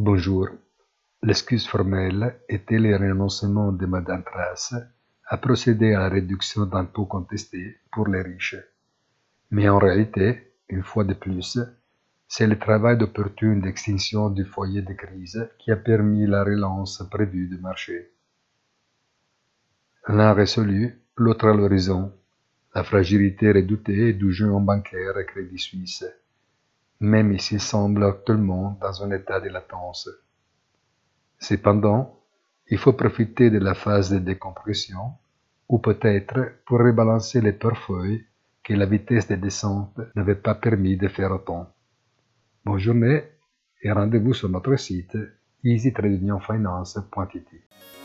Bonjour. L'excuse formelle était le renoncement de Madame Trace à procéder à la réduction d'impôts contestés pour les riches. Mais en réalité, une fois de plus, c'est le travail d'opportune d'extinction du foyer de crise qui a permis la relance prévue du marché. L'un résolu, l'autre à l'horizon, la fragilité redoutée du géant bancaire Crédit Suisse, même s'il semble actuellement dans un état de latence. Cependant, il faut profiter de la phase de décompression, ou peut-être pour rebalancer les portefeuilles que la vitesse de descente n'avait pas permis de faire autant. Bonne journée et rendez-vous sur notre site easytradeunionfinance.it.